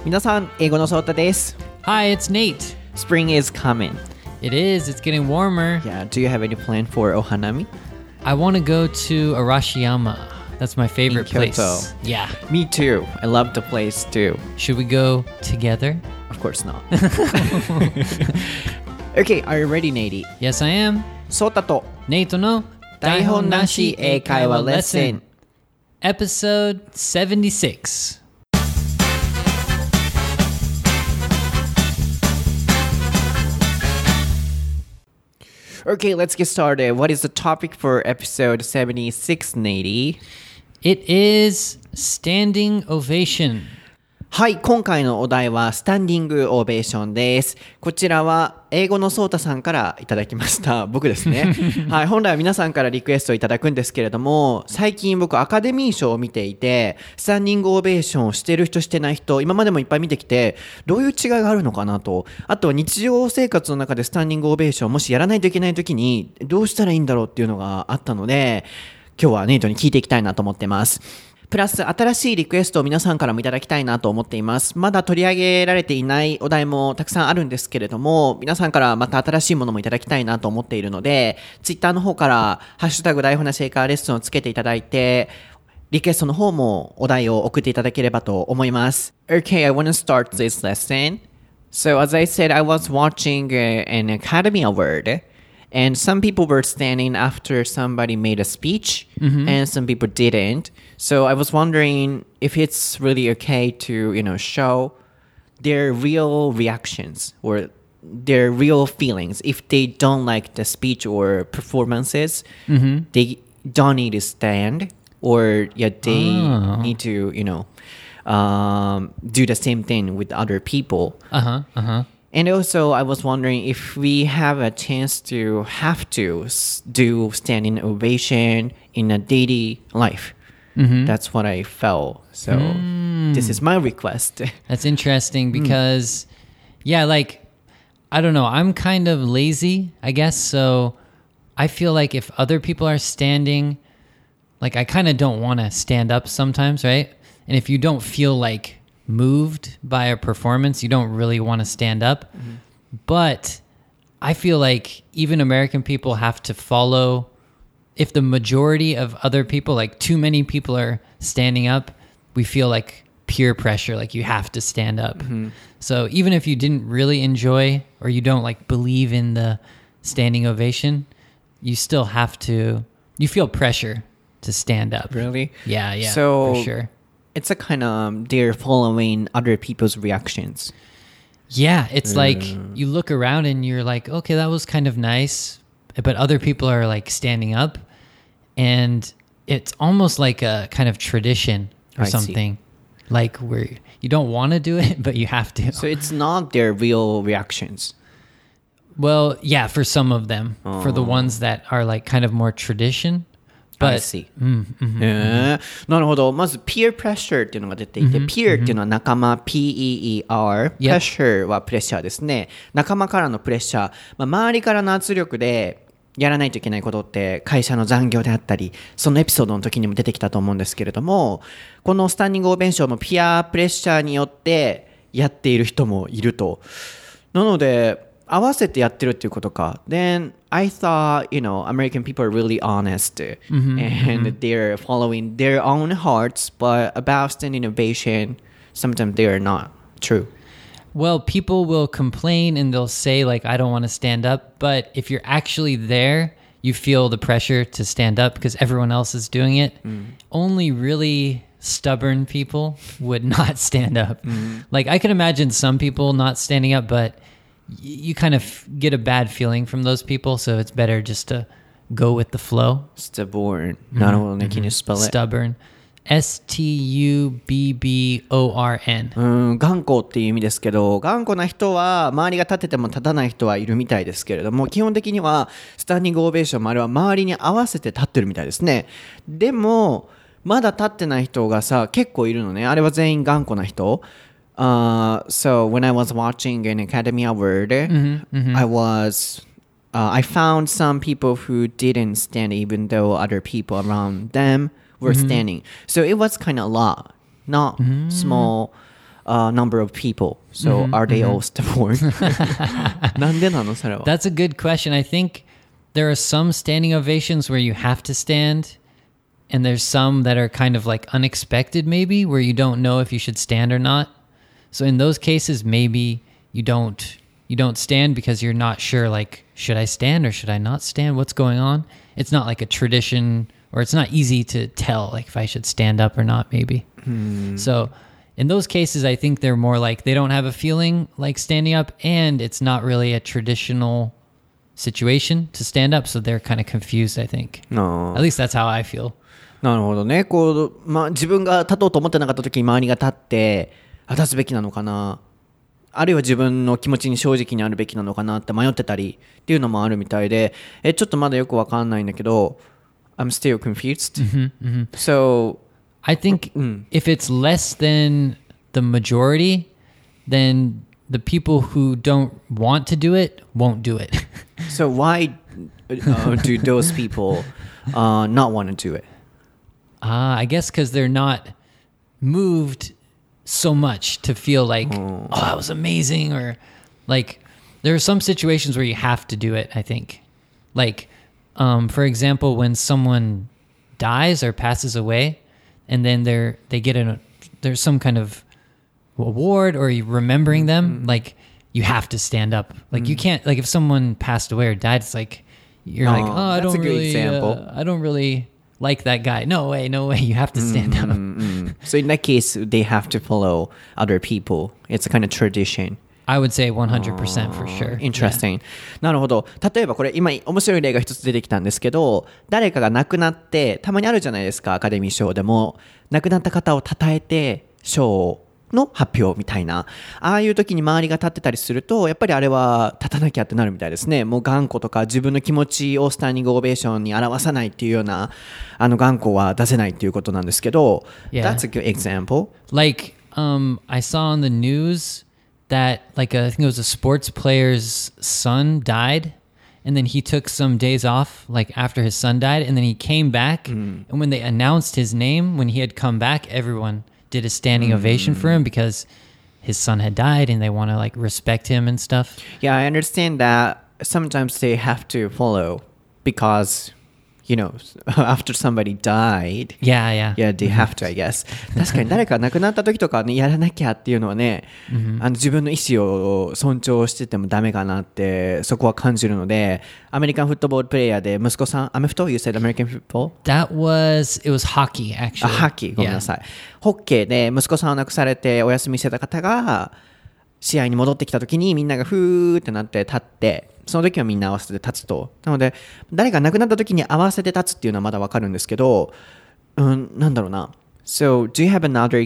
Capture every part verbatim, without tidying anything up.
皆さん、英語のソータです。 Hi, it's Nate. Spring is coming. It is. It's getting warmer. Yeah, do you have any plan for Ohanami? I want to go to Arashiyama. That's my favorite In place. Kyoto. Yeah. Me too. I love the place too. Should we go together? Of course not. Okay, are you ready, Nate? Yes, I am. ソータと Nate の台本なし英会話レッスン Episode seventy-six. Okay, let's get started. What is the topic for episode seventy-six, Nate? It is standing ovation. はい、今回のお題はスタンディングオベーションです。こちらは英語のソータさんからいただきました。僕ですね。はい、本来は皆さんからリクエストいただくんですけれども、最近僕アカデミー賞を見ていて、スタンディングオベーションをしてる人してない人、今までもいっぱい見てきて、どういう違いがあるのかなと。あとは日常生活の中でスタンディングオベーションをもしやらないといけない時に、どうしたらいいんだろうっていうのがあったので、今日はネイトに聞いていきたいなと思ってます。プラス新しいリクエストを皆さんからもいただきたいなと思っています。まだ取り上げられていないお題もたくさんあるんですけれども、皆さんからまた新しいものもいただきたいなと思っているので、ツイッターの方からハッシュタグ台本なし英会話レッスンをつけていただいて、リクエストの方もお題を送っていただければと思います。Okay, I want to start this lesson. So as I said, I was watching an Academy Award.And some people were standing after somebody made a speech, mm-hmm. and some people didn't. So I was wondering if it's really okay to, you know, show their real reactions or their real feelings. If they don't like the speech or performances, mm-hmm. they don't need to stand, or yeah, they oh. need to, you know, um, do the same thing with other people. Uh-huh, uh-huh.And also, I was wondering if we have a chance to have to do standing ovation in a daily life. Mm-hmm. That's what I felt. So mm. this is my request. That's interesting because, mm. yeah, like, I don't know. I'm kind of lazy, I guess. So I feel like if other people are standing, like, I kind of don't want to stand up sometimes, right? And if you don't feel like...moved by a performance, you don't really want to stand up. Mm-hmm. But I feel like even American people have to follow. If the majority of other people, like too many people are standing up, we feel like peer pressure, like you have to stand up. Mm-hmm. So even if you didn't really enjoy or you don't like believe in the standing ovation, you still have to, you feel pressure to stand up. Really? Yeah, yeah, so, for sure.It's a kind of um, they're following other people's reactions. Yeah, it's mm. like you look around and you're like, okay, that was kind of nice, but other people are like standing up, and it's almost like a kind of tradition or I something, see. like where you don't want to do it, but you have to. So it's not their real reactions. Well, yeah, for some of them, oh. for the ones that are like kind of more tradition.But, I see. うんうんうん、えー、なるほど。まず peer pressure っていうのが出ていて、mm-hmm. peer っていうのは仲間、ピーイーイーアール、 yep. pressure はプレッシャーですね。仲間からのプレッシャー、まあ、周りからの圧力でやらないといけないことって会社の残業であったり、そのエピソードの時にも出てきたと思うんですけれども、このスタンディングオベーションもピアプレッシャーによってやっている人もいると。なので合わせてやってるっていうことか。Then I thought, you know, American people are really honest, mm-hmm, and mm-hmm. they're following their own hearts, but about standing ovation, sometimes they are not true. Well, people will complain and they'll say like, I don't want to stand up. But if you're actually there, you feel the pressure to stand up because everyone else is doing it. Mm. Only really stubborn people would not stand up. Mm. Like I can imagine some people not standing up, but...You kind of get a bad feeling from those people, so it's better just to go with the flow. Stubborn. なるほどね。Can you spell it? Stubborn. S T U B B O R N. うん、頑固っていう意味ですけど、頑固な人は周りが立ってても立たない人はいるみたいですけれども、基本的にはスタンディングオベーションもあれは周りに合わせて立ってるみたいですね。でもまだ立ってない人がさ結構いるのね。あれは全員頑固な人。Uh, so when I was watching an Academy Award, mm-hmm, mm-hmm. I was, uh, I found some people who didn't stand even though other people around them were mm-hmm. standing. So it was kind of a lot, not mm-hmm. small uh, number of people. So Mm-hmm, are they all stubborn? なんでなのそれは。 That's a good question. I think there are some standing ovations where you have to stand, and there's some that are kind of like unexpected, maybe, where you don't know if you should stand or not. So in those cases, maybe you don't you don't stand because you're not sure, like, should I stand or should I not stand? What's going on? It's not like a tradition, or it's not easy to tell, like, if I should stand up or not, maybe. So in those cases, I think they're more like they don't have a feeling like standing up, and it's not really a traditional situation to stand up, so they're kind of confused, I think. No. At least that's how I feel. なるほどね。こう、まあ、自分が立とうと思ってなかった時に周りが立ってあ立つべきなのかな、あるいは自分の気持ちに正直にあるべきなのかなって迷ってたりっていうのもあるみたいで、えちょっとまだよくわかんないんだけど I'm still confused. So I think if it's less than the majority, then the people who don't want to do it won't do it. So why uh, do those people uh, not want to do it? Ah, I guess because they're not moved so much to feel like, oh, that was amazing, or like there are some situations where you have to do it, I think. Like, um, for example, when someone dies or passes away, and then they're they get a there's some kind of award or you remembering them, like you have to stand up. Like you can't, like if someone passed away or died, it's like you're Oh, like, oh, I that's a don't good really, example. uh, I don't really like that guy. No way, no way. You have to stand up. So in that case, they have to follow other people. It's a kind of tradition. I would say one hundred percent for sure. Interesting. なるほど。例えばこれ今面白い例が一つ出てきたんですけど、誰かが亡くなってたまにあるじゃないですか、アカデミー賞でも亡くなった方を称えて賞の発表みたいな、ああいう時に周りが立ってたりするとやっぱりあれは立たなきゃってなるみたいですね。もう頑固とか自分の気持ちをスタンディングオベーションに表さないっていうようなあの頑固は出せないっていうことなんですけど、 Yeah. That's a good example. Like, um, I saw on the news that like a, I think it was a sports player's son died, and then he took some days off like after his son died, and then he came back, and when they announced his name when he had come back, everyone did a standing ovation for him because his son had died and they want to like respect him and stuff. Yeah, I understand that sometimes they have to follow because, you know, after somebody died, Yeah, yeah. yeah, they have to, I guess. 確かに誰か亡くなった時とかね、やらなきゃっていうのはね、あの自分の意思を尊重しててもダメかなってそこは感じるので、アメリカンフットボールプレイヤーで息子さん、アメフト You said American football? That was, it was hockey あ、 actually. ハッキー、ごめんなさい。ホッケーで息子さんを亡くされてお休みしてた方が試合に戻ってきた時にみんながフーってなって立って、その時はみんな合わせて立つと。なので誰が亡くなった時に合わせて立つっていうのはまだわかるんですけど、うん、なんだろうな。So, do you have another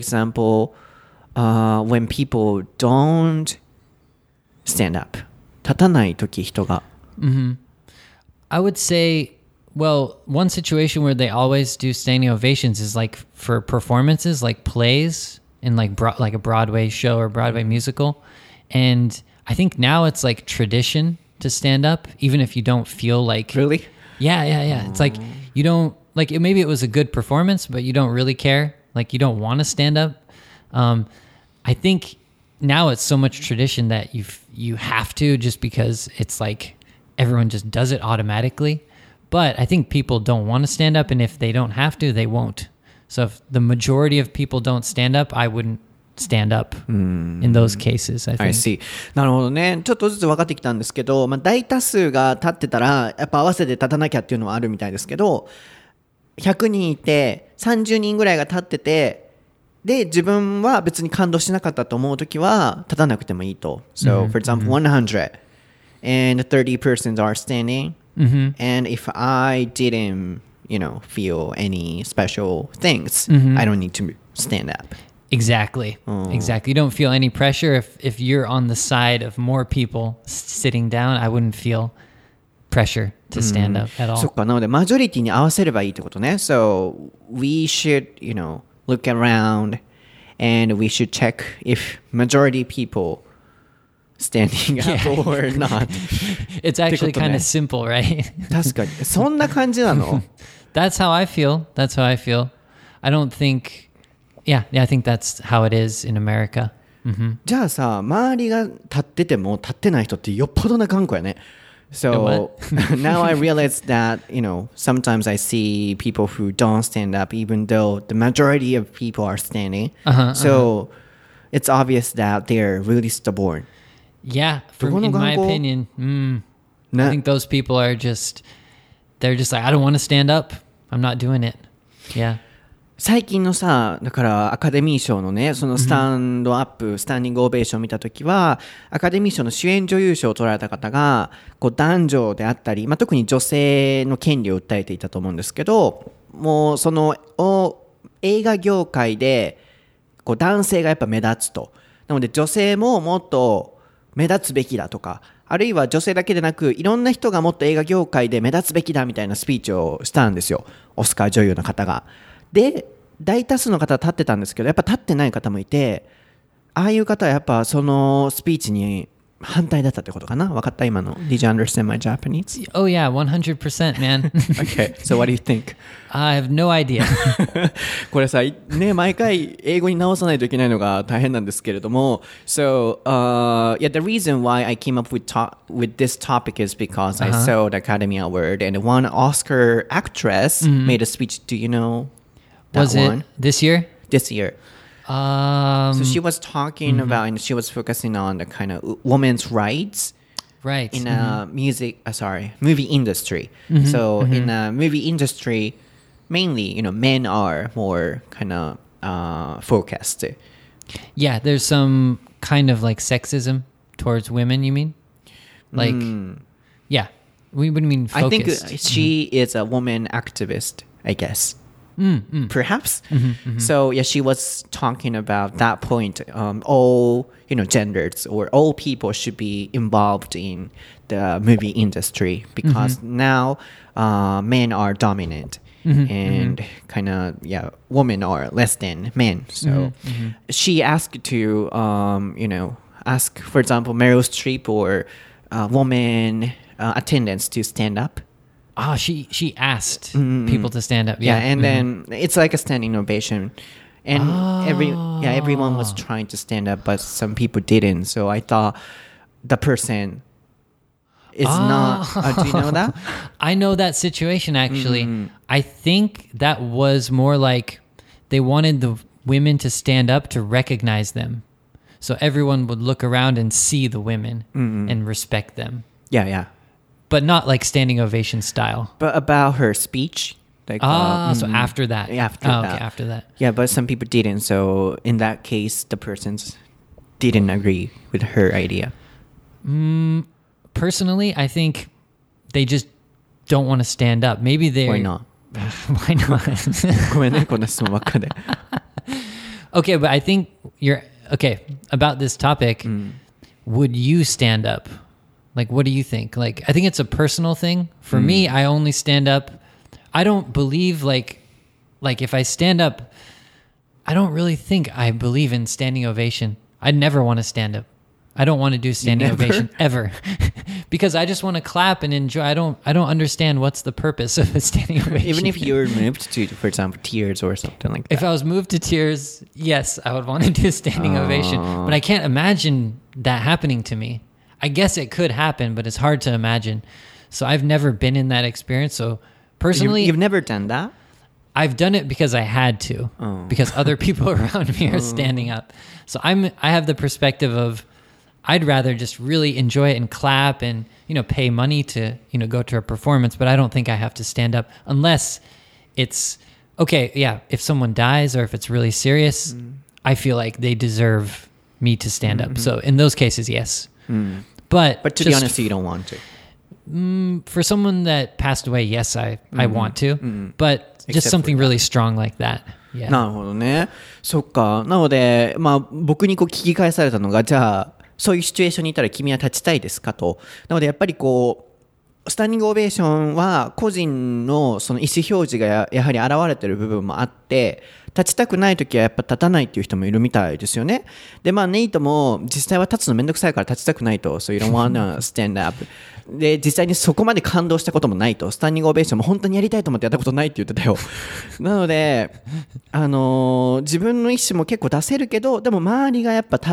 example、uh, when people don't stand up? 立たない時人が。 I would say, well, one situation where they always do standing ovations is like for performances, like plays in like bro- like a Broadway show or Broadway musical. And I think now it's like tradition to stand up, even if you don't feel like... Really? Yeah, yeah, yeah. It's like you don't... Like it, maybe it was a good performance, but you don't really care. Like you don't want to stand up. Um, I think now it's so much tradition that you you have to just because it's like everyone just does it automatically. But I think people don't want to stand up, and if they don't have to, they won't. So if the majority of people don't stand up, I wouldn't stand up in those cases, I think. I see. なるほどね。ちょっとずつ分かってきたんですけど、まあ、大多数が立ってたらやっぱ合わせて立たなきゃっていうのはあるみたいですけど、ひゃくにんいてさんじゅうにんぐらいが立ってて、で自分は別に感動しなかったと思うときは立たなくてもいいと。So, for example, one hundred and thirty persons are standing, and if I didn't, you know, feel any special things, I don't need to stand up. Exactly. Exactly. You don't feel any pressure if, if you're on the side of more people s- sitting down. I wouldn't feel pressure to stand up at そっ all. か、なのでマジョリティに合わせればいいってことね。So, we should, you know, look around and we should check if majority people standing up Yeah. or not. It's actually ってことね。 kind of simple, right? 確かに。そんな感じなの？ That's how I feel. That's how I feel. I don't think... Yeah, yeah, I think that's how it is in America. じゃあさ、周りが立ってても立ってない人ってよっぽどな頑固やね。So now I realize that, you know, sometimes I see people who don't stand up even though the majority of people are standing. Uh-huh, so it's obvious that they're really stubborn. Yeah, from, どこの in my 頑固 opinion, mm, ね I think those people are just, they're just like, I don't want to stand up. I'm not doing it. Yeah. 最近のさ、だからアカデミー賞のね、そのスタンドアップ、スタンディングオベーションを見たときは、アカデミー賞の主演女優賞を取られた方が、こう男女であったり、まあ、特に女性の権利を訴えていたと思うんですけど、もうそのお映画業界でこう男性がやっぱ目立つと。なので女性ももっと目立つべきだとか、あるいは女性だけでなく、いろんな人がもっと映画業界で目立つべきだみたいなスピーチをしたんですよ。オスカー女優の方が。で、大多数の方は立ってたんですけど、やっぱ立ってない方もいて、ああいう方はやっぱそのスピーチに反対だったってことかな。分かった今の。Did you understand my Japanese? Oh yeah, one hundred percent, man. Okay, so what do you think? I have no idea. これさ、ね、毎回英語に直さないといけないのが大変なんですけれども、So, uh, yeah, the reason why I came up with, to- with this topic is because I saw the Academy Award and one Oscar actress made a speech. Do you know that Was one? it this year? This year. Um, So she was talking about, and she was focusing on the kind of women's rights right. in a music, uh, sorry, movie industry. So in a movie industry, mainly, you know, men are more kind of uh, focused. Yeah, there's some kind of like sexism towards women, you mean? Like, yeah. We would mean I think focused. uh, she is a woman activist, I guess. Perhaps. So yeah, she was talking about that point. Um, all you know, genders or all people should be involved in the movie industry because now uh, men are dominant and kind of yeah, women are less than men. So she asked to um, you know, ask for example Meryl Streep or uh, woman uh, attendants to stand up. Oh, she she asked people to stand up. Yeah, Yeah, and then it's like a standing ovation, and every yeah everyone was trying to stand up, but some people didn't. So I thought the person is not. Uh, do you know that? I know that situation actually. I think that was more like they wanted the women to stand up to recognize them. So everyone would look around and see the women and respect them. Yeah, yeah. But not like standing ovation style. But about her speech, like Ah, uh, so after that. after oh, that. Okay, after that. Yeah, but some people didn't. So in that case, the persons didn't agree with her idea. Personally, I think they just don't want to stand up. Maybe they Why not? Why not? ごめんね、こんな質問ばっかで。 Okay, but I think you're okay about this topic. Would you stand up? Like, what do you think? Like, I think it's a personal thing. For me, I only stand up. I don't believe like, like if I stand up, I don't really think I believe in standing ovation. I'd never want to stand up. I don't want to do standing Never? ovation ever, because I just want to clap and enjoy. I don't. I don't understand what's the purpose of a standing ovation. Even if you're moved to, for example, tears or something like that. If I was moved to tears, yes, I would want to do a standing ovation. But I can't imagine that happening to me. I guess it could happen, but it's hard to imagine. So I've never been in that experience. So personally, You've, you've never done that? I've done it because I had to, because other people around me are standing up. So I'm, I have the perspective of, I'd rather just really enjoy it and clap and, you know, pay money to, you know, go to a performance, but I don't think I have to stand up unless it's, okay, yeah, if someone dies or if it's really serious, I feel like they deserve me to stand up. So in those cases, yes. But, But to be just honest, you don't want to. for someone that passed away, yes, I, I want to, but just Except something really strong like that. Yeah. なるほどね。そっか。なので、まあ、僕にこう聞き返されたのが、じゃあ、そういうシチュエーションにいたら君は立ちたいですかと。なので、やっぱりこう、スタンディングオベーションは個人のその意思表示が や, やはり現れてる部分もあって、立ちたくないときはやっぱ立たないっていう人もいるみたいですよね。で、まあ、ネイトも実際は立つのめんどくさいから立ちたくないと。So you don't wanna stand up. で、実際にそこまで感動したこともないと。スタンディングオベーションも本当にやりたいと思ってやったことないって言ってたよ。なので、あのー自分の意思も結構出せるけど、でも周りがやっぱ立って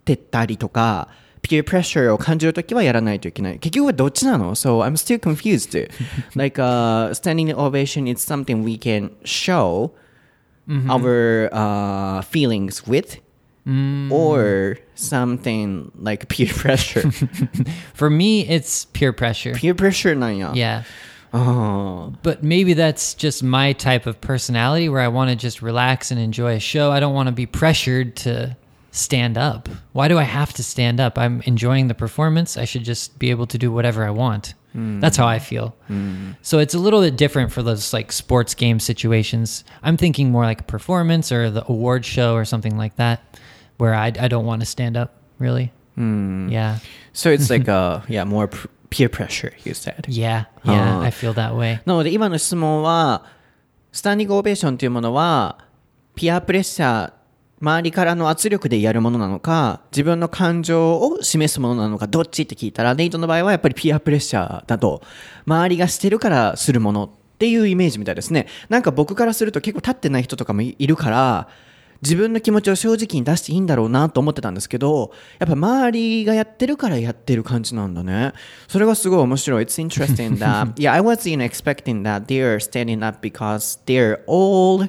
てたりとか、peer pressure を感じるときはやらないといけない。結局はどっちなの？ So I'm still confused. Like uh, standing ovation is something we can show mm-hmm. our uh, feelings with, mm. or something like peer pressure. For me, it's peer pressure. Peer pressure なんや。 Yeah. Oh. But maybe that's just my type of personality where I want to just relax and enjoy a show. I don't want to be pressured to stand up. Why do I have to stand up? I'm enjoying the performance. I should just be able to do whatever I want. Mm. That's how I feel. Mm. So it's a little bit different for those like sports game situations. I'm thinking more like a performance or the award show or something like that, where I, I don't want to stand up really. Mm. Yeah. So it's like a, yeah, more pr- peer pressure, you said. Yeah, yeah, I feel that way. なので今の質問は、スタンディングオベーションというものは、ピアプレッシャー、周りからの圧力でやるものなのか、自分の感情を示すものなのか、どっちって聞いたら、ネイトの場合はやっぱりピアプレッシャーだと、周りがしてるからするものっていうイメージみたいですね。なんか僕からすると結構立ってない人とかもいるから、自分の気持ちを正直に出していいんだろうなと思ってたんですけど、やっぱ周りがやってるからやってる感じなんだね。それがすごい面白い。It's interesting that, yeah, I was you know, expecting that they're standing up because they're all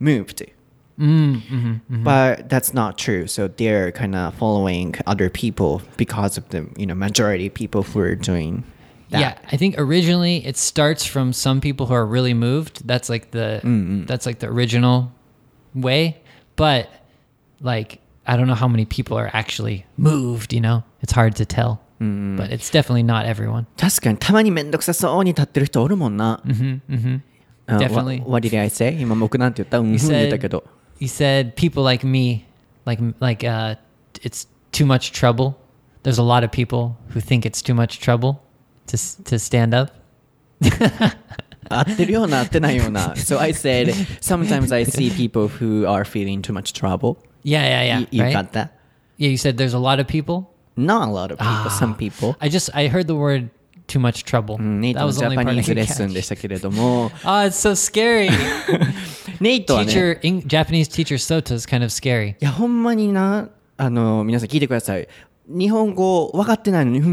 moved.Mm, mm-hmm, mm-hmm. But that's not true. So they're kind of following other people because of the you know majority of people who are doing that. Yeah, I think originally it starts from some people who are really moved. That's like the mm-hmm. that's like the original way. But like I don't know how many people are actually moved. You know, it's hard to tell. Mm-hmm. But it's definitely not everyone. 確かにたまにめんどくさそうに立ってる人おるもんな。 Mm-hmm, mm-hmm. Definitely. Uh, what, what did I say? 今僕なんて言った？うん、言ったけど。 You said people like me, like like uh, it's too much trouble. There's a lot of people who think it's too much trouble to to stand up. 合ってるような合ってないような。So I said sometimes I see people who are feeling too much trouble. Yeah, yeah, yeah. You, you right? got that? Yeah, you said there's a lot of people. Not a lot of people. Ah, some people. I just I heard the word too much trouble. ネイトのジャパニーズレッスンでしたけれども。 Oh, it's so scary. ネイトはね。 Teacher, Japanese teacher Sota is kind of scary. いや、ほんまにな、あの、皆さん聞いてください。日本語分かってないのに、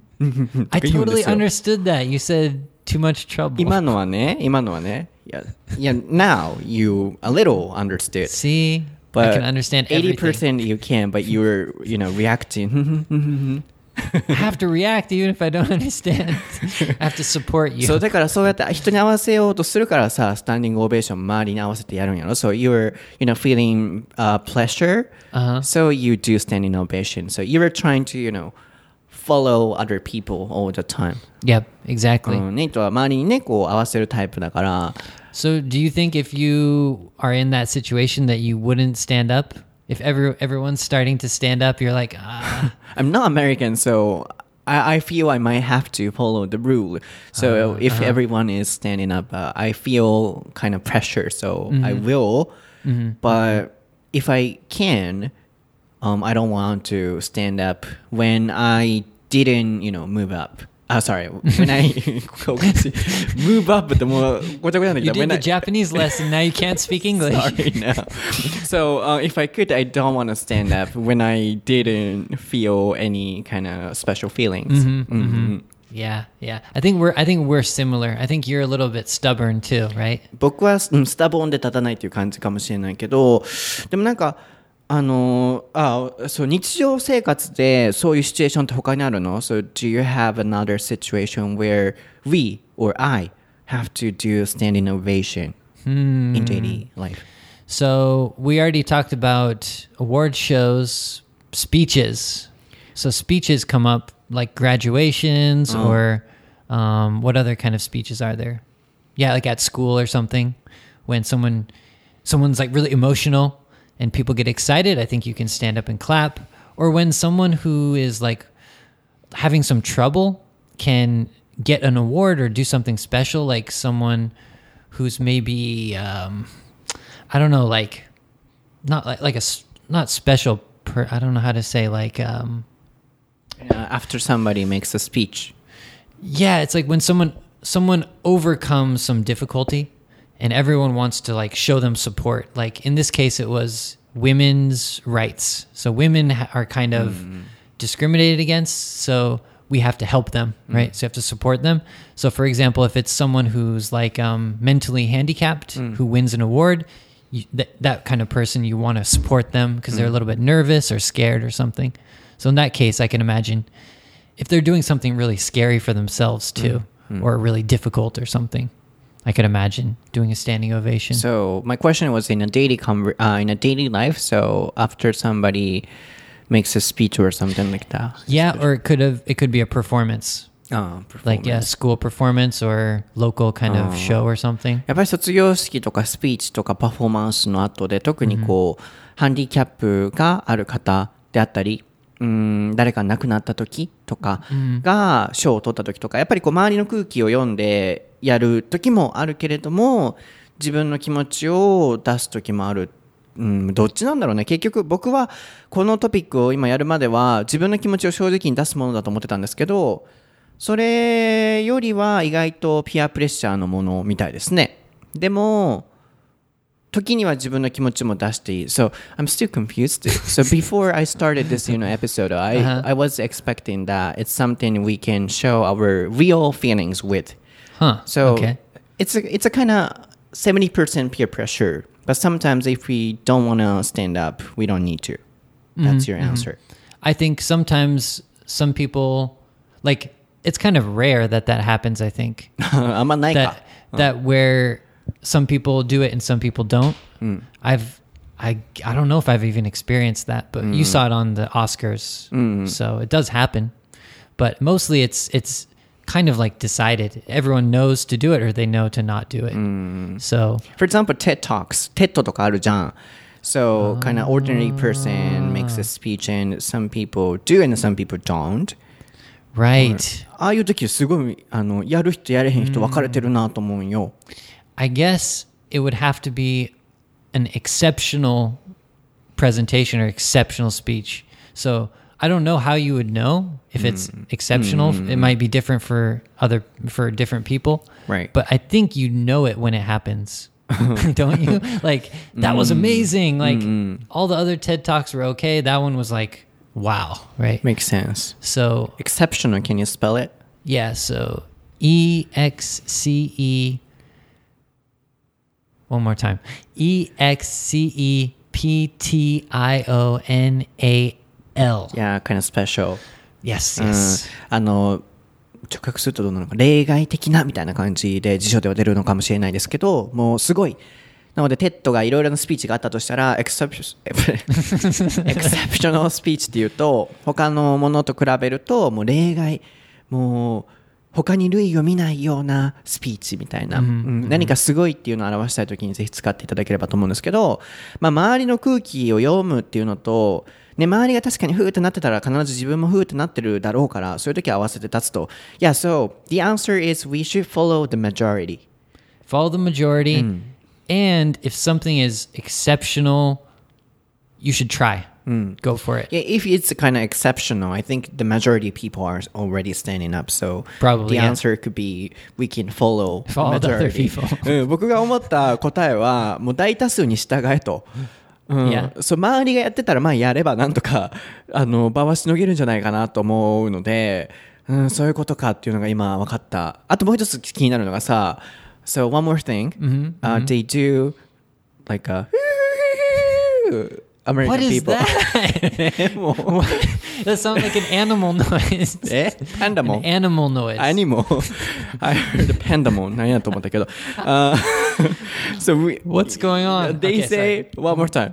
I totally understood that. You said too much trouble. 今のはね、今のはね。いや、いや、now you a little understood. See, but I can understand everything. eighty percent you can, but you're, you know, reacting. I have to react even if I don't understand. I have to support you. そうだからそうやって人に合わせようとするからさ、スタンディングオベーション周りに合わせてやるんやろ。So you're, you know, feeling uh, pleasure. Uh-huh. So you do standing ovation. So you're trying to, you know, follow other people all the time. Yep, exactly. うん、ネイトは周りにね、こう合わせるタイプだから。 So do you think if you are in that situation that you wouldn't stand up?If every, everyone's starting to stand up, you're like, ah. I'm not American, so I, I feel I might have to follow the rule. So uh, if uh-huh. everyone is standing up, uh, I feel kind of pressure, so mm-hmm. I will. Mm-hmm. But if I can, um, I don't want to stand up when I didn't, you know, move up. Oh, sorry. When I move up, but more you did the I, Japanese lesson. Now you can't speak English. Sorry, no. So uh, if I could, I don't want to stand up when I didn't feel any kind of special feelings. Mm-hmm, mm-hmm. Mm-hmm. Yeah, yeah. I think we're I think we're similar. I think you're a little bit stubborn too, right? 僕はスタボンで立たないという感じかもしれないけど、でもなんか。あのあそう日常生活でそういうシチュエーションって他にあるの So do you have another situation where we or I have to do standing ovation hmm. in daily life? So we already talked about award shows, speeches. So speeches come up like graduations oh. or um, what other kind of speeches are there? Yeah, like at school or something when someone someone's like really emotional.And people get excited, I think you can stand up and clap. Or when someone who is like having some trouble can get an award or do something special, like someone who's maybe, um, I don't know, like not like, like a, not special, per, I don't know how to say, like... Um, uh, after somebody makes a speech. Yeah, it's like when someone someone overcomes some difficulty and everyone wants to like show them support. Like in this case, it was women's rights. So women ha- are kind of mm. discriminated against. So we have to help them, right? Mm. So you have to support them. So for example, if it's someone who's like um, mentally handicapped mm. who wins an award, you, th- that kind of person, you want to support them because mm. they're a little bit nervous or scared or something. So in that case, I can imagine if they're doing something really scary for themselves too, mm. or really difficult or something, I could imagine doing a standing ovation. So my question was in a daily com- uh, in a daily life. So after somebody makes a speech or something like that. Yeah, or it could have it could be a performance. Oh, performance. Like yeah, school performance or local kind of show or something. やっぱり卒業式とかスピーチとかパフォーマンスの後で特にこう、mm-hmm. ハンディキャップがある方であったり。うん誰か亡くなった時とかが賞を取った時とかやっぱりこう周りの空気を読んでやる時もあるけれども自分の気持ちを出す時もある、うん、どっちなんだろうね結局僕はこのトピックを今やるまでは自分の気持ちを正直に出すものだと思ってたんですけどそれよりは意外とピアプレッシャーのものみたいですねでも時には自分の気持ちも出していい。So, I'm still confused. So, before I started this, you know, episode, I, uh-huh. I was expecting that it's something we can show our real feelings with. Huh. So, okay. it's a, it's a kind of seventy percent peer pressure. But sometimes if we don't want to stand up, we don't need to. That's mm-hmm. your answer. I think sometimes some people, like, it's kind of rare that that happens, I think. あんまないか。 That, that where... some people do it and some people don't. Mm. I've, I, I don't know if I've even experienced that, but mm. you saw it on the Oscars, mm. so it does happen. But mostly, it's it's kind of like decided. Everyone knows to do it, or they know to not do it. Mm. So, for example, TED Talks, TED とかあるじゃん. So, uh, kind of ordinary person makes a speech, and some people do, and some people don't. Right. ああいう時すごいあのやる人やれへん人分かれてるなと思うんよ。 I guess it would have to be an exceptional presentation or exceptional speech. So I don't know how you would know if it's mm. exceptional. Mm. It might be different for other for different people. Right. But I think you know it when it happens. Don't you? Like that mm. was amazing. Like mm. all the other TED Talks were okay. That one was like wow, right? Makes sense. So exceptional, can you spell it? Yeah, so E X C E One more time. E X C E P T I O N A L. Yeah, kind of special. Yes, yes. あの直訳するとどうなのか例外的なみたいな感じで辞書では出るのかもしれないですけどもうすごいなのでテッドがいろいろなスピーチがあったとしたらエクセプショナルスピーチっていうと他のものと比べるともう例外もう他に類を見ないようなスピーチみたいな、mm-hmm. うん、何かすごいっていうのを表したいときにぜひ使っていただければと思うんですけど、まあ、周りの空気を読むっていうのと、ね、周りが確かにフーってなってたら必ず自分もフーってなってるだろうからそういう時は合わせて立つと Yeah, so the answer is we should follow the majority. Follow the majority、うん、and if something is exceptional, you should try.Mm. Go for it. Yeah, if it's kind of exceptional, I think the majority of people are already standing up. So Probably, the yeah. answer could be we can follow, follow the other people. うん、僕が思った答えはもう大多数に従えと。うん yeah. そう周りがやってたらまあやればなんとかあの場はしのげるんじゃないかなと思うので、うん、そういうことかっていうのが今分かった。あともう一つ気になるのがさ、So one more thing,、mm-hmm. uh, they do like a American what is people. That? That sounds like an animal noise. え Pandamon? An animal noise. Animal. I heard pandamon. 何やと思ったけど。Uh, so we, What's going on? They okay, say sorry. one more time.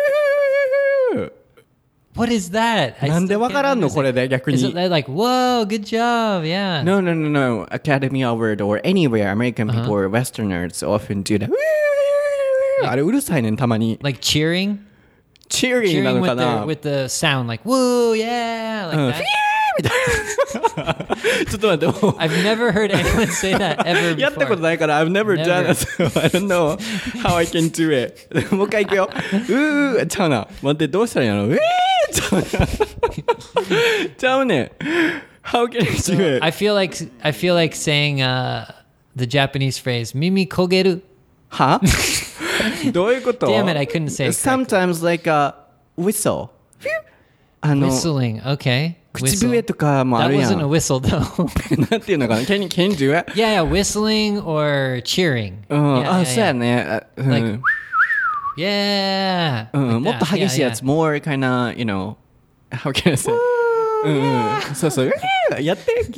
What is that? なんでわからんのこれで逆に。 Is it like, whoa, good job, yeah. No, no, no, no. Academy Award or anywhere American people、uh-huh. or Westerners often do that. あれうるさいねんたまに。 Like cheering?Cheering なのかな with the, with the sound like woo yeah like that みたいなちょっと待ってもう I've never heard anyone say that ever before やったことないから I've never, never. done it so I don't know how I can do it もう一回いくようーちゃうな待ってどうしたらいいのうえーちゃうなちゃうね How can I do it I feel like I feel like saying、uh, the Japanese phrase 耳焦げるはどういうこと Damn it, I couldn't say it correctly. Sometimes like a whistle. あの Whistling, okay. 口笛とかもあ That るや wasn't a ん。 whistle though. なんていうのかな Can you, can you do it? Yeah, yeah, whistling or cheering. うん、 Yeah, あ、 yeah, そうや yeah. ね。あうん Like, yeah. うん、 like もっと that. 激しいや Yeah, つ、more kind of, you know, how can I say? うんうん、そうそう、やってやって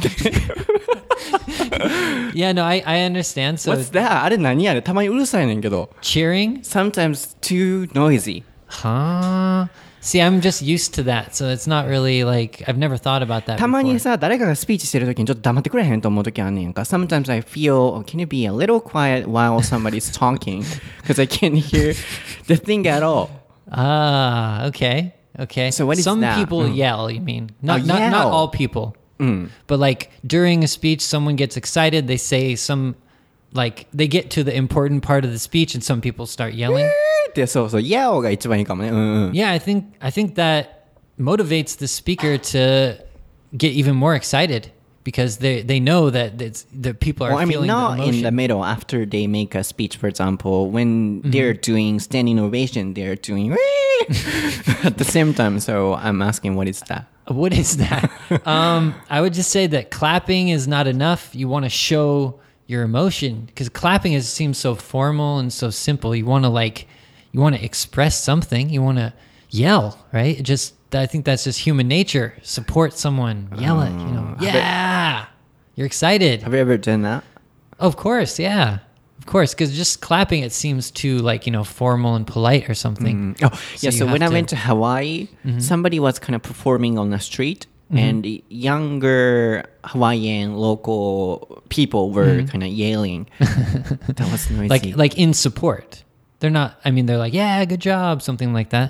yeah. yeah, no, I, I understand. So What's that? あれ何あれたまにうるさいねんけど。 cheering? Sometimes too noisy. Huh? See, I'm just used to that, so it's not really like I've never thought about that たま before. にさ、誰かがスピーチしてるときにちょっと黙ってくれへんと思うときあんねんか。Sometimes I feel, oh, can you be a little quiet while somebody's talking? Because I can't hear the thing at all. Ah, okay. Okay. So what is Some that? people Mm. yell, you mean? Not, Oh, not, not yell. all people. Mm. But like during a speech, someone gets excited. They say some, like, they get to the important part of the speech and some people start yelling. で、そうそう、yell が一番いいかもね。うんうん。 Yeah, I think, I think that motivates the speaker to get even more excited because they, they know that it's, the people are Well, I mean, feeling not the in the emotion. middle after they make a speech, for example, when they're doing standing ovation, they're doing at the same time. So I'm asking, what is that? What is that? um, I would just say that clapping is not enough. You want to show your emotion because clapping is seems so formal and so simple. You want to like, you want to express something. You want to yell, right? It just, I think that's just human nature. Support someone, yell it. You know, yeah, you're excited. Have you ever done that? Of course, yeah, of course. Because just clapping, it seems too like you know formal and polite or something. Oh, So yeah. you So have when I to- went to Hawaii, somebody was kind of performing on the street, and younger Hawaiian local people were kind of yelling. That was noisy. Like like in support. They're not. I mean, they're like, yeah, good job, something like that.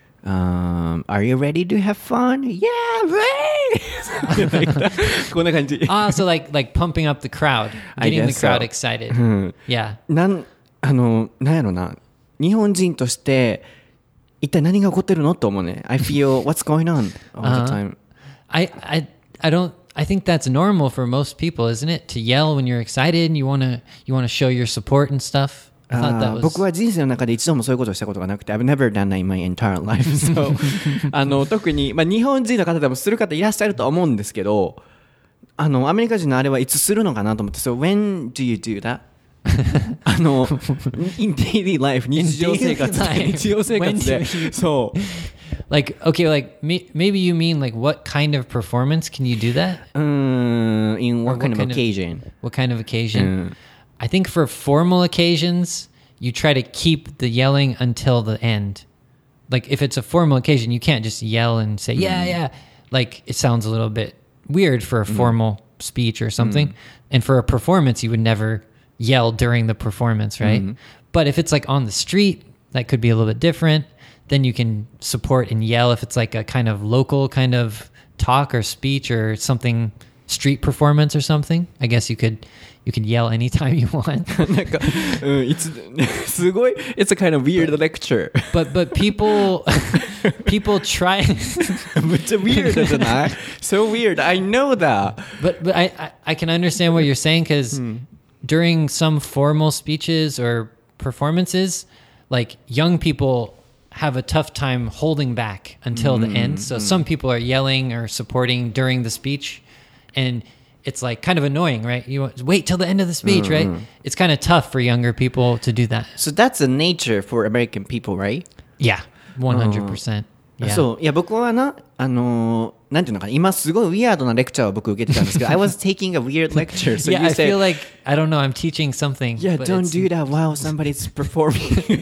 um, are you ready to have fun? Yeah, ready. Like that. こんな感じ。 Ah, so like like pumping up the crowd, I getting the guess crowd so. excited. Yeah. なんあのなんやろな日本人として一体何が起こってるのと思うね。I feel what's going on all the time. I I I don't. I think that's normal for most people, isn't it? To yell when you're excited and you wanna you wanna show your support and stuff. I thought あ that ー was. 僕は人生の中で一度もそういうことをしたことがなくて I've never done that in my entire life. So あの特に、まあ、日本人の方でもする方いらっしゃるとは思うんですけどあのアメリカ人のあれはいつするのかなと思って So when do you do that? あの in daily life 日常生活 daily life. 日常生活 When で do you- そう Like okay, like me, maybe you mean like what kind of performance can you do that? うーん in what Or kind of what kind of- occasion? What kind of occasion? I think for formal occasions, you try to keep the yelling until the end. Like if it's a formal occasion, you can't just yell and say, yeah, yeah. Like it sounds a little bit weird for a formal speech or something. And for a performance, you would never yell during the performance, right? But if it's like on the street, that could be a little bit different. Then you can support and yell if it's like a kind of local kind of talk or speech or something, street performance or something. I guess you could you could yell anytime you want. なんか、うん、いつすごい It's a kind of weird lecture. But but people people try めっちゃ weird じゃない So weird. I know that. but but I, I I can understand what you're saying because during some formal speeches or performances, like young people have a tough time holding back until the end. So some people are yelling or supporting during the speech, and it's like kind of annoying, right? You want- wait till the end of the speech, right? It's kind of tough for younger people to do that. So that's a nature for American people, right? Yeah, one hundred percent. Yeah. そういや僕はなあのーなんていうのかな今すごいウィアードなレクチャーを僕受けてたんですけど I was taking a weird lecture. So yeah, you I say, feel like I don't know. I'm teaching something. yeah, but don't it's- do that while somebody's performing.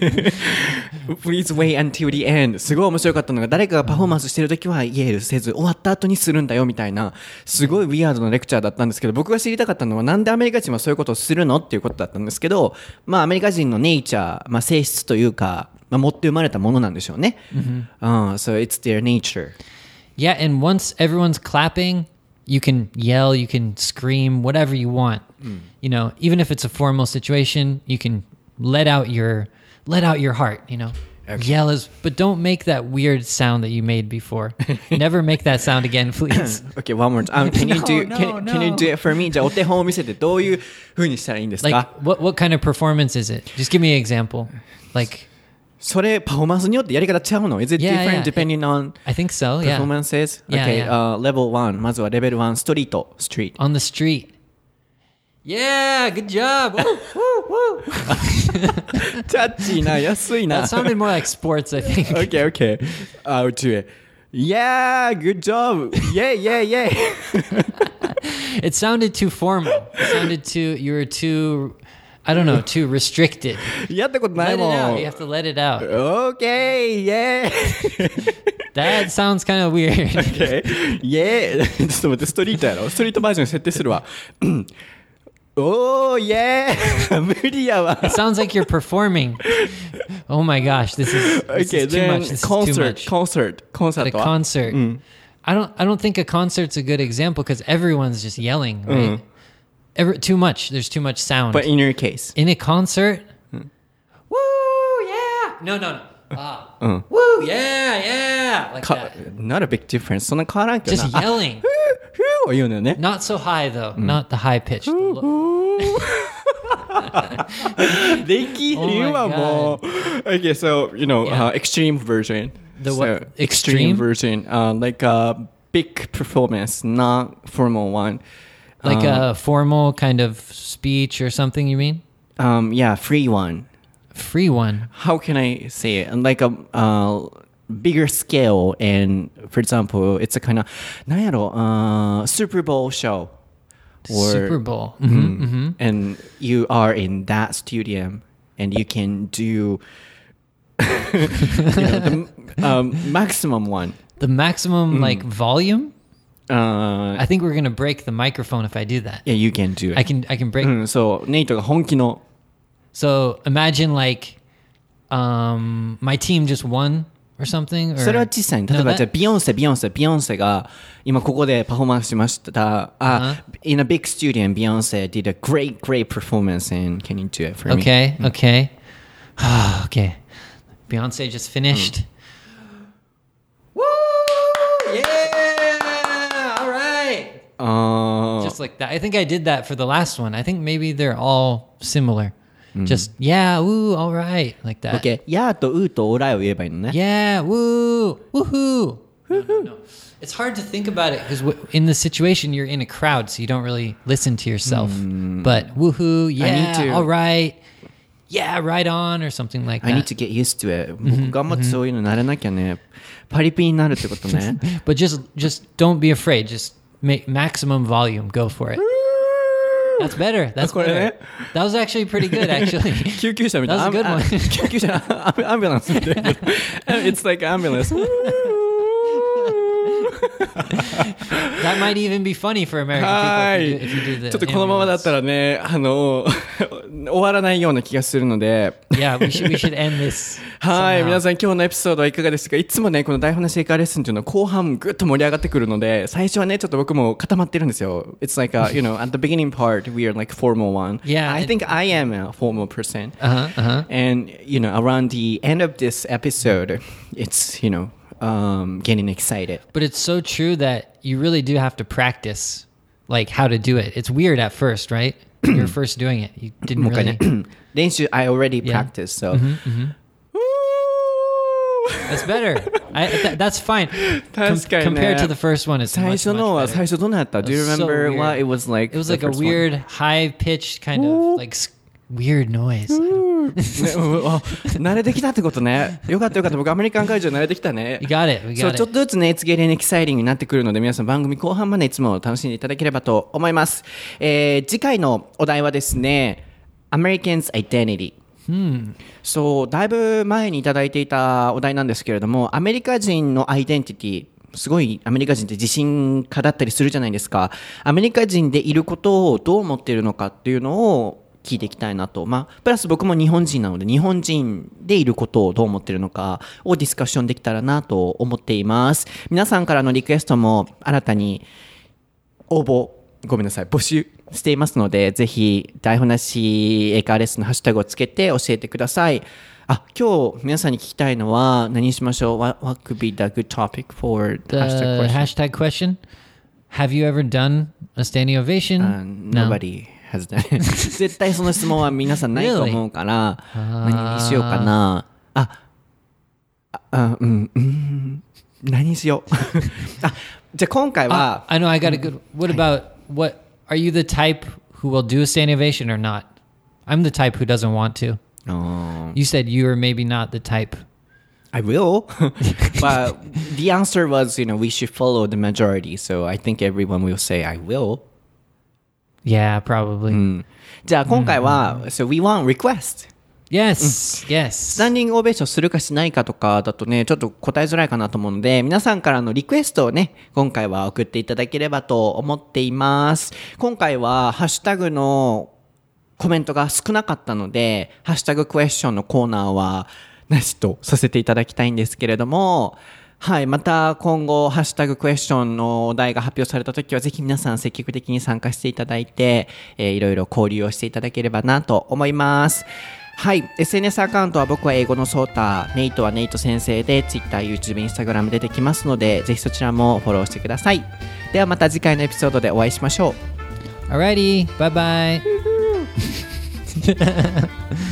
Please wait until the end. すごい面白かったのが誰かがパフォーマンスしてるときはイエールせず終わった後にするんだよみたいなすごいウィアードなレクチャーだったんですけど僕が知りたかったのはなんでアメリカ人はそういうことをするのっていうことだったんですけどまあアメリカ人のネイチャー、まあ、性質というか、まあ、持って生まれたものなんでしょうね。Uh, so it's their nature. Yeah, and once everyone's clapping, you can yell, you can scream, whatever you want. You know, even if it's a formal situation, you can let out your let out your heart, you know. Yell is, but don't make that weird sound that you made before. Never make that sound again, please. Okay, one more time. Um, can you do No, can, no, can you no. do it for me? じゃあお手本を見せてどういう風にしたらいいんですか Like, what what kind of performance is it? Just give me an example. Like, それパフォーマンスによってやり方違うの Is it Yeah, different yeah. depending on I think so, yeah. performances? Yeah, Okay, yeah. Uh, level one まずはレベルワンストリート street On the street. Yeah, good job. Woo, woo, woo. チャッチーな安いな That sounded more like sports, I think. Okay, okay. I'll do it. Yeah, good job. Yeah, yeah, yeah. It sounded too formal. It sounded too, you were too, I don't know, too restricted. やったことな Let い it も out. ん You have to let it out. Okay, yeah. That sounds kind of weird. Okay. Yeah. ちょっと待って、ストリートやろストリートバージョン設定するわ。おー、yeah! 無理やわ。 It sounds like you're performing. Oh my gosh, this is, this Okay, is too then much. This concert, is too much. concert, コンサ At ー a トは concert. I don't I don't think a concert's a good example because everyone's just yelling, right? Every, too much. There's too much sound. But in your case. In a concert, woo, yeah. No, no, no. Ah. Woo, yeah, yeah. Like か that. Not a big difference. そんな変わらんけど Just な。あ yelling. ふーを言うのよね。 Not so high though. Not the high pitch. The lo- できひんわ、 Oh my もう。Okay, so, you know, Yeah. uh, extreme version. The So, what? extreme Extreme? version. Uh, like a big performance, not formal one. like uh, a formal kind of speech or something, you mean? Um, yeah, free one. Free one. How can I say it? Like a uh, bigger scale, and for example, it's a kind of なんやろ uh, Super Bowl show. Or, Super Bowl. Mhm, mhm. And you are in that stadium, and you can do you know, the um, maximum one. The maximum like volume? Uh, I think we're going to break the microphone if I do that. yeah, you can do it. I can I can break うん、そう、ネイトが本気の So imagine like um my team just won or something or それは小さい。例え No, ば that- じゃあビヨンセビヨンセビヨンセが今ここでパフォーマンスしました。あ、in a big studio, Beyonce did a great great performance, and can you do it for me? Okay, okay. Okay. Beyonce just finished. Woo! Yeah! All right. あ Just like that. I think I did that for the last one. I think maybe they're all similar. Just yeah, woo, all right, like ー、 that. OK。やーとうーとオーライを言えばいいのね。 Yeah, woo, woohoo. No, no, no. It's hard to think about it because w- in the situation you're in a crowd, so you don't really listen to yourself. But woohoo, yeah, to- all right, yeah, right on, or something like I need that. to get used to it. 僕頑張ってそういうの慣れなきゃね。パリピになるってことね。 But just, just don't be afraid. Just make maximum volume. Go for it. That's better. That's これ better. ね。 That was actually pretty good, actually. 救急車みたいな。 That was a good あ one. 救急車、アンアンビュランスみたいな。It's like ambulance. That might even be funny for American は people い if you do, if you do the ちょっとこのままだった ambulance. らね、あの、終わらないような気がするので。 Yeah, we should we should end this. はい、 somehow. 皆さん今日のエピソードはいかがですか？いつもね、この台本のシェイカーレッスンっていうのは後半ぐっと盛り上がってくるので、最初はね、ちょっと僕も固まってるんですよ。It's like a, you know, at the beginning part, we are like formal one. Yeah, I it- think I am a formal person. Uh-huh, uh-huh. And, you know, around the end of this episode, it's, you know, um, getting excited. But it's so true that you really do have to practice like how to do it. It's weird at first, right? You're first doing it. You didn't もう一回 really. ね、練習、I already Yeah. practiced, so. That's better. I, th- that's fine. Com- 確かにね。 compared to the first one, it's 最 much, 初のは much 最 better. 初どうなった Do you It was so remember weird. what it was like? It was the like a first one? weird high-pitched kind of like s- weird noise. ねうんあ慣れてきたってことね。よかったよかった。僕アメリカン会場慣れてきたね。 You got it. We そう got ちょっ it. とずつね、It's getting exciting になってくるので、皆さん番組後半までいつも楽しんでいただければと思います。えー次回のお題はですね、Americans Identity。そう、だいぶ前にいただいていたお題なんですけれども、アメリカ人のアイデンティティ、すごいアメリカ人って自信家だったりするじゃないですか。アメリカ人でいることをどう思っているのかっていうのを聞いていきたいなと。まあ、プラス僕も日本人なので、日本人でいることをどう思っているのかをディスカッションできたらなと思っています。皆さんからのリクエストも新たに応募ごめんなさい、募集していますので、ぜひ台本なし英会話レッスンのハッシュタグをつけて教えてください。あ、今日皆さんに聞きたいのは何にしましょう？ What, what could be the good topic for the, The hashtag question? hashtag question. Have you ever done a standing ovation? Uh, No. nobody has done it. 絶対その質問は皆さんないと思うから、何にしようかな。あ、あ、あうん、うん、何にしよう。あ、じゃあ今回 Ah, は、 I know. I got a good. What about what? Are you the type who will do a standing ovation or not? I'm the type who doesn't want to. um, You said you are maybe not the type. I will. But the answer was, you know, we should follow the majority. So I think everyone will say, I will. Yeah, probably. じゃあ今回は、so we want request. Yes. ス Yes. タンディングオベーションするかしないかとかだとね、ちょっと答えづらいかなと思うので、皆さんからのリクエストをね、今回は送っていただければと思っています。今回はハッシュタグのコメントが少なかったので、ハッシュタグクエスチョンのコーナーはなしとさせていただきたいんですけれども、はい、また今後ハッシュタグクエスチョンのお題が発表されたときはぜひ皆さん積極的に参加していただいて、えー、いろいろ交流をしていただければなと思います。はい、エスエヌエス アカウントは僕は英語のソータ、ネイトはネイト先生で Twitter、YouTube、Instagram 出てきますので、ぜひそちらもフォローしてください。ではまた次回のエピソードでお会いしましょう。 Alrighty. Bye bye.